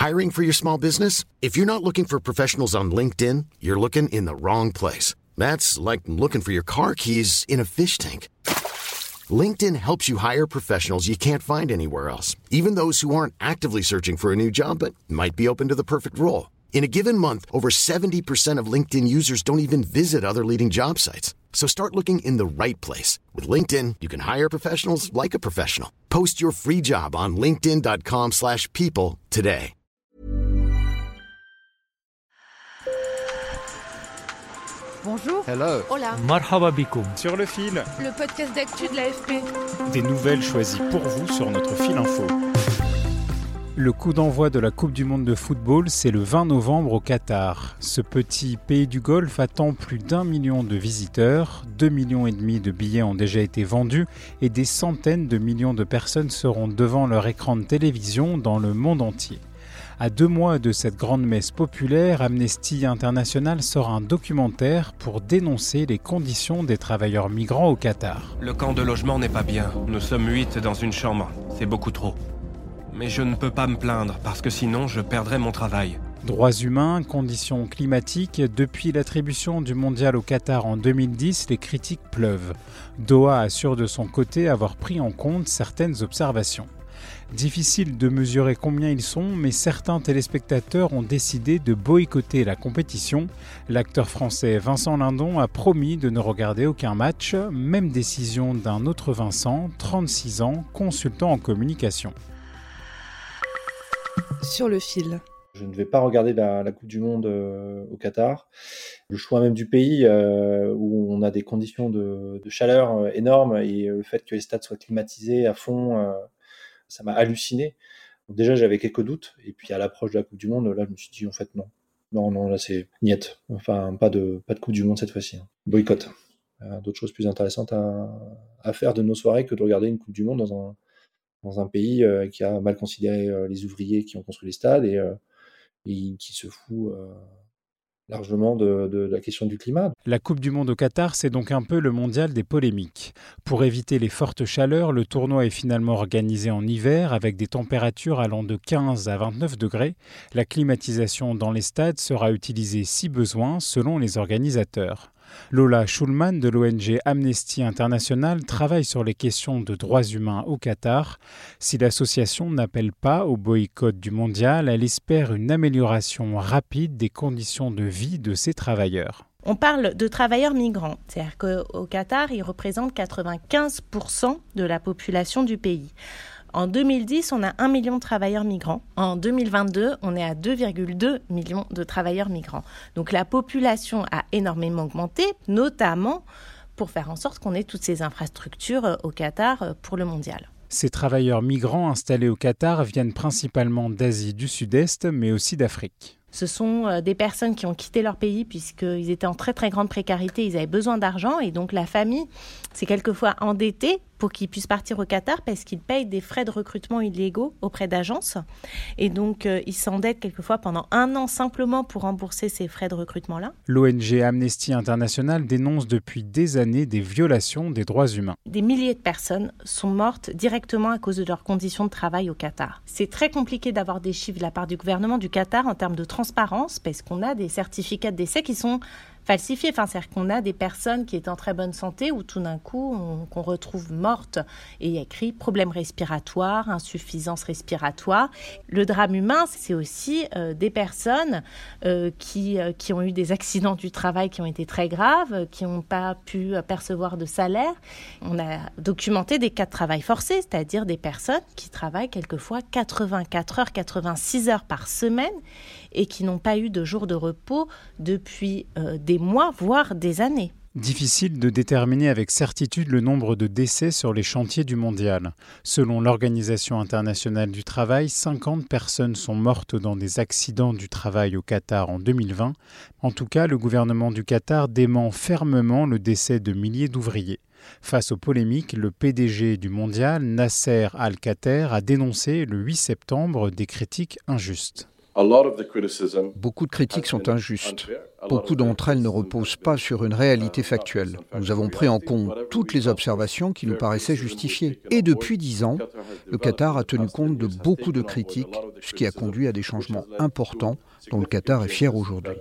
Hiring for your small business? If you're not looking for professionals on LinkedIn, you're looking in the wrong place. That's like looking for your car keys in a fish tank. LinkedIn helps you hire professionals you can't find anywhere else, even those who aren't actively searching for a new job but might be open to the perfect role. In a given month, over 70% of LinkedIn users don't even visit other leading job sites. So start looking in the right place. With LinkedIn, you can hire professionals like a professional. Post your free job on linkedin.com/people today. Bonjour. Hello. Hola. Marhaba bikoum. Sur le fil. Le podcast d'actu de l'AFP. Des nouvelles choisies pour vous sur notre fil info. Le coup d'envoi de la Coupe du Monde de football, c'est le 20 novembre au Qatar. Ce petit pays du Golfe attend plus d'1 million de visiteurs, 2,5 millions de billets ont déjà été vendus et des centaines de millions de personnes seront devant leur écran de télévision dans le monde entier. À 2 mois de cette grande messe populaire, Amnesty International sort un documentaire pour dénoncer les conditions des travailleurs migrants au Qatar. Le camp de logement n'est pas bien. Nous sommes 8 dans une chambre. C'est beaucoup trop. Mais je ne peux pas me plaindre parce que sinon je perdrais mon travail. Droits humains, conditions climatiques, depuis l'attribution du mondial au Qatar en 2010, les critiques pleuvent. Doha assure de son côté avoir pris en compte certaines observations. Difficile de mesurer combien ils sont, mais certains téléspectateurs ont décidé de boycotter la compétition. L'acteur français Vincent Lindon a promis de ne regarder aucun match, même décision d'un autre Vincent, 36 ans, consultant en communication. Sur le fil. Je ne vais pas regarder la Coupe du Monde au Qatar. Le choix même du pays où on a des conditions de chaleur énormes et le fait que les stades soient climatisés à fond, ça m'a halluciné. Donc déjà, j'avais quelques doutes. Et puis à l'approche de la Coupe du Monde, là, je me suis dit en fait non. Non, là c'est niet. Enfin, pas de Coupe du Monde cette fois-ci. Boycott. D'autres choses plus intéressantes à faire de nos soirées que de regarder une Coupe du Monde dans un pays qui a mal considéré les ouvriers qui ont construit les stades et qui se fout largement de la question du climat. La Coupe du Monde au Qatar, c'est donc un peu le mondial des polémiques. Pour éviter les fortes chaleurs, le tournoi est finalement organisé en hiver avec des températures allant de 15 à 29 degrés. La climatisation dans les stades sera utilisée si besoin selon les organisateurs. Lola Schulman de l'ONG Amnesty International travaille sur les questions de droits humains au Qatar. Si l'association n'appelle pas au boycott du mondial, elle espère une amélioration rapide des conditions de vie de ces travailleurs. On parle de travailleurs migrants, c'est-à-dire qu'au Qatar, ils représentent 95% de la population du pays. En 2010, on a 1 million de travailleurs migrants. En 2022, on est à 2,2 millions de travailleurs migrants. Donc la population a énormément augmenté, notamment pour faire en sorte qu'on ait toutes ces infrastructures au Qatar pour le mondial. Ces travailleurs migrants installés au Qatar viennent principalement d'Asie du Sud-Est, mais aussi d'Afrique. Ce sont des personnes qui ont quitté leur pays puisqu'ils étaient en très très grande précarité, ils avaient besoin d'argent et donc la famille s'est quelquefois endettée pour qu'ils puissent partir au Qatar parce qu'ils payent des frais de recrutement illégaux auprès d'agences. Et donc, ils s'endettent quelquefois pendant 1 an simplement pour rembourser ces frais de recrutement-là. L'ONG Amnesty International dénonce depuis des années des violations des droits humains. Des milliers de personnes sont mortes directement à cause de leurs conditions de travail au Qatar. C'est très compliqué d'avoir des chiffres de la part du gouvernement du Qatar en termes de transparence parce qu'on a des certificats de décès qui sont falsifiés. Enfin, c'est-à-dire qu'on a des personnes qui étaient en très bonne santé où tout d'un coup, qu'on retrouve mortes et il y a écrit problème respiratoire, insuffisance respiratoire. Le drame humain, c'est aussi des personnes qui ont eu des accidents du travail qui ont été très graves, qui n'ont pas pu percevoir de salaire. On a documenté des cas de travail forcé, c'est-à-dire des personnes qui travaillent quelquefois 84 heures, 86 heures par semaine et qui n'ont pas eu de jour de repos depuis des mois, voire des années. Difficile de déterminer avec certitude le nombre de décès sur les chantiers du mondial. Selon l'Organisation internationale du travail, 50 personnes sont mortes dans des accidents du travail au Qatar en 2020. En tout cas, le gouvernement du Qatar dément fermement le décès de milliers d'ouvriers. Face aux polémiques, le PDG du mondial, Nasser Al-Khater, a dénoncé le 8 septembre des critiques injustes. Beaucoup de critiques sont injustes. Beaucoup d'entre elles ne reposent pas sur une réalité factuelle. Nous avons pris en compte toutes les observations qui nous paraissaient justifiées. Et depuis 10 ans, le Qatar a tenu compte de beaucoup de critiques, ce qui a conduit à des changements importants dont le Qatar est fier aujourd'hui.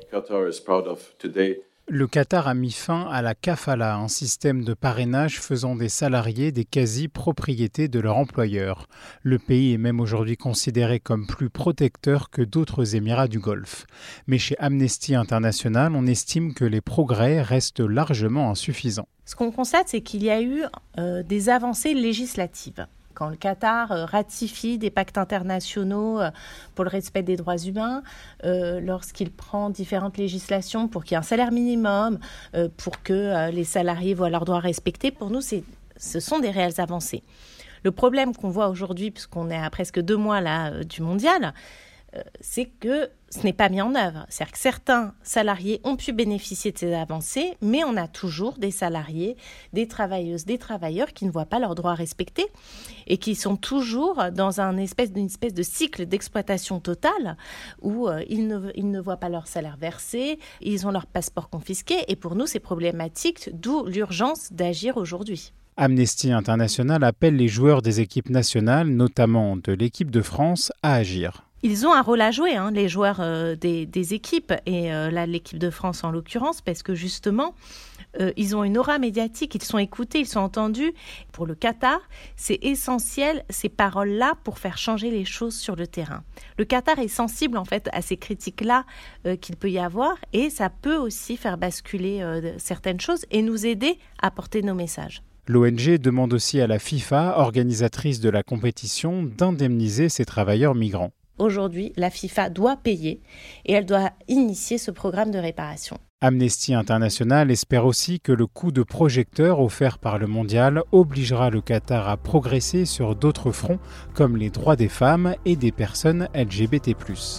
Le Qatar a mis fin à la kafala, un système de parrainage faisant des salariés des quasi-propriétés de leur employeur. Le pays est même aujourd'hui considéré comme plus protecteur que d'autres Émirats du Golfe. Mais chez Amnesty International, on estime que les progrès restent largement insuffisants. Ce qu'on constate, c'est qu'il y a eu des avancées législatives. Quand le Qatar ratifie des pactes internationaux pour le respect des droits humains, lorsqu'il prend différentes législations pour qu'il y ait un salaire minimum, pour que les salariés voient leurs droits respectés, pour nous, ce sont des réelles avancées. Le problème qu'on voit aujourd'hui, puisqu'on est à presque 2 mois là, du mondial, c'est que ce n'est pas mis en œuvre. C'est-à-dire que certains salariés ont pu bénéficier de ces avancées, mais on a toujours des salariés, des travailleuses, des travailleurs qui ne voient pas leurs droits respectés et qui sont toujours dans une espèce de cycle d'exploitation totale où ils ne voient pas leur salaire versé, ils ont leur passeport confisqué et pour nous c'est problématique, d'où l'urgence d'agir aujourd'hui. Amnesty International appelle les joueurs des équipes nationales, notamment de l'équipe de France, à agir. Ils ont un rôle à jouer, les joueurs des équipes, et là l'équipe de France en l'occurrence, parce que justement, ils ont une aura médiatique, ils sont écoutés, ils sont entendus. Pour le Qatar, c'est essentiel ces paroles-là pour faire changer les choses sur le terrain. Le Qatar est sensible en fait à ces critiques-là qu'il peut y avoir, et ça peut aussi faire basculer certaines choses et nous aider à porter nos messages. L'ONG demande aussi à la FIFA, organisatrice de la compétition, d'indemniser ces travailleurs migrants. Aujourd'hui, la FIFA doit payer et elle doit initier ce programme de réparation. Amnesty International espère aussi que le coup de projecteur offert par le mondial obligera le Qatar à progresser sur d'autres fronts comme les droits des femmes et des personnes LGBT+.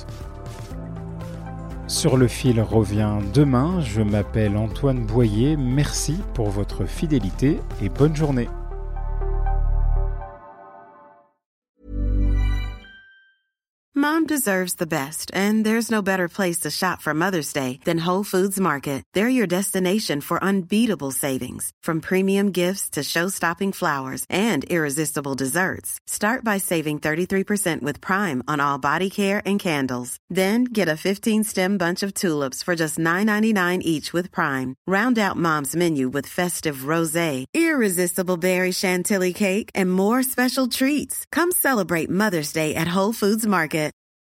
Sur le fil revient demain. Je m'appelle Antoine Boyer. Merci pour votre fidélité et bonne journée. Mom deserves the best, and there's no better place to shop for Mother's Day than Whole Foods Market. They're your destination for unbeatable savings, from premium gifts to show-stopping flowers and irresistible desserts. Start by saving 33% with Prime on all body care and candles. Then get a 15-stem bunch of tulips for just $9.99 each with Prime. Round out Mom's menu with festive rosé, irresistible berry chantilly cake, and more special treats. Come celebrate Mother's Day at Whole Foods Market.